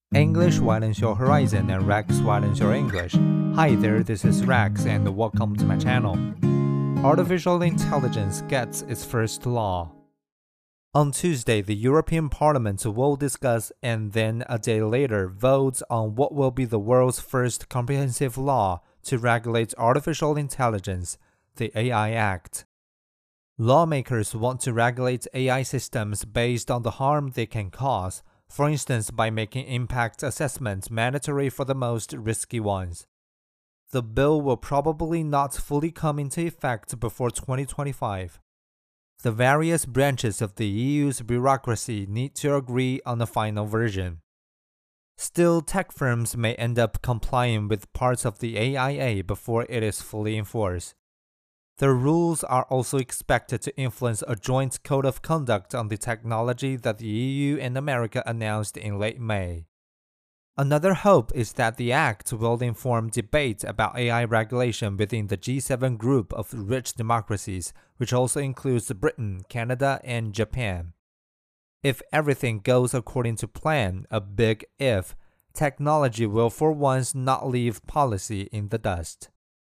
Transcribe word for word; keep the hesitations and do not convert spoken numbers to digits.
English widens your horizon and Rex widens your English. Hi there, this is Rex and welcome to my channel. Artificial intelligence gets its first law. On Tuesday, the European Parliament will discuss and then a day later vote on what will be the world's first comprehensive law to regulate artificial intelligence, the A I Act. Lawmakers want to regulate A I systems based on the harm they can cause, for instance by making impact assessments mandatory for the most risky ones. The bill will probably not fully come into effect before twenty twenty-five. The various branches of the E U's bureaucracy need to agree on a final version. Still, tech firms may end up complying with parts of the A I A before it is fully enforced. The rules are also expected to influence a joint code of conduct on the technology that the E U and America announced in late May. Another hope is that the act will inform debate about A I regulation within the G seven group of rich democracies, which also includes Britain, Canada, and Japan. If everything goes according to plan, a big if, technology will for once not leave policy in the dust.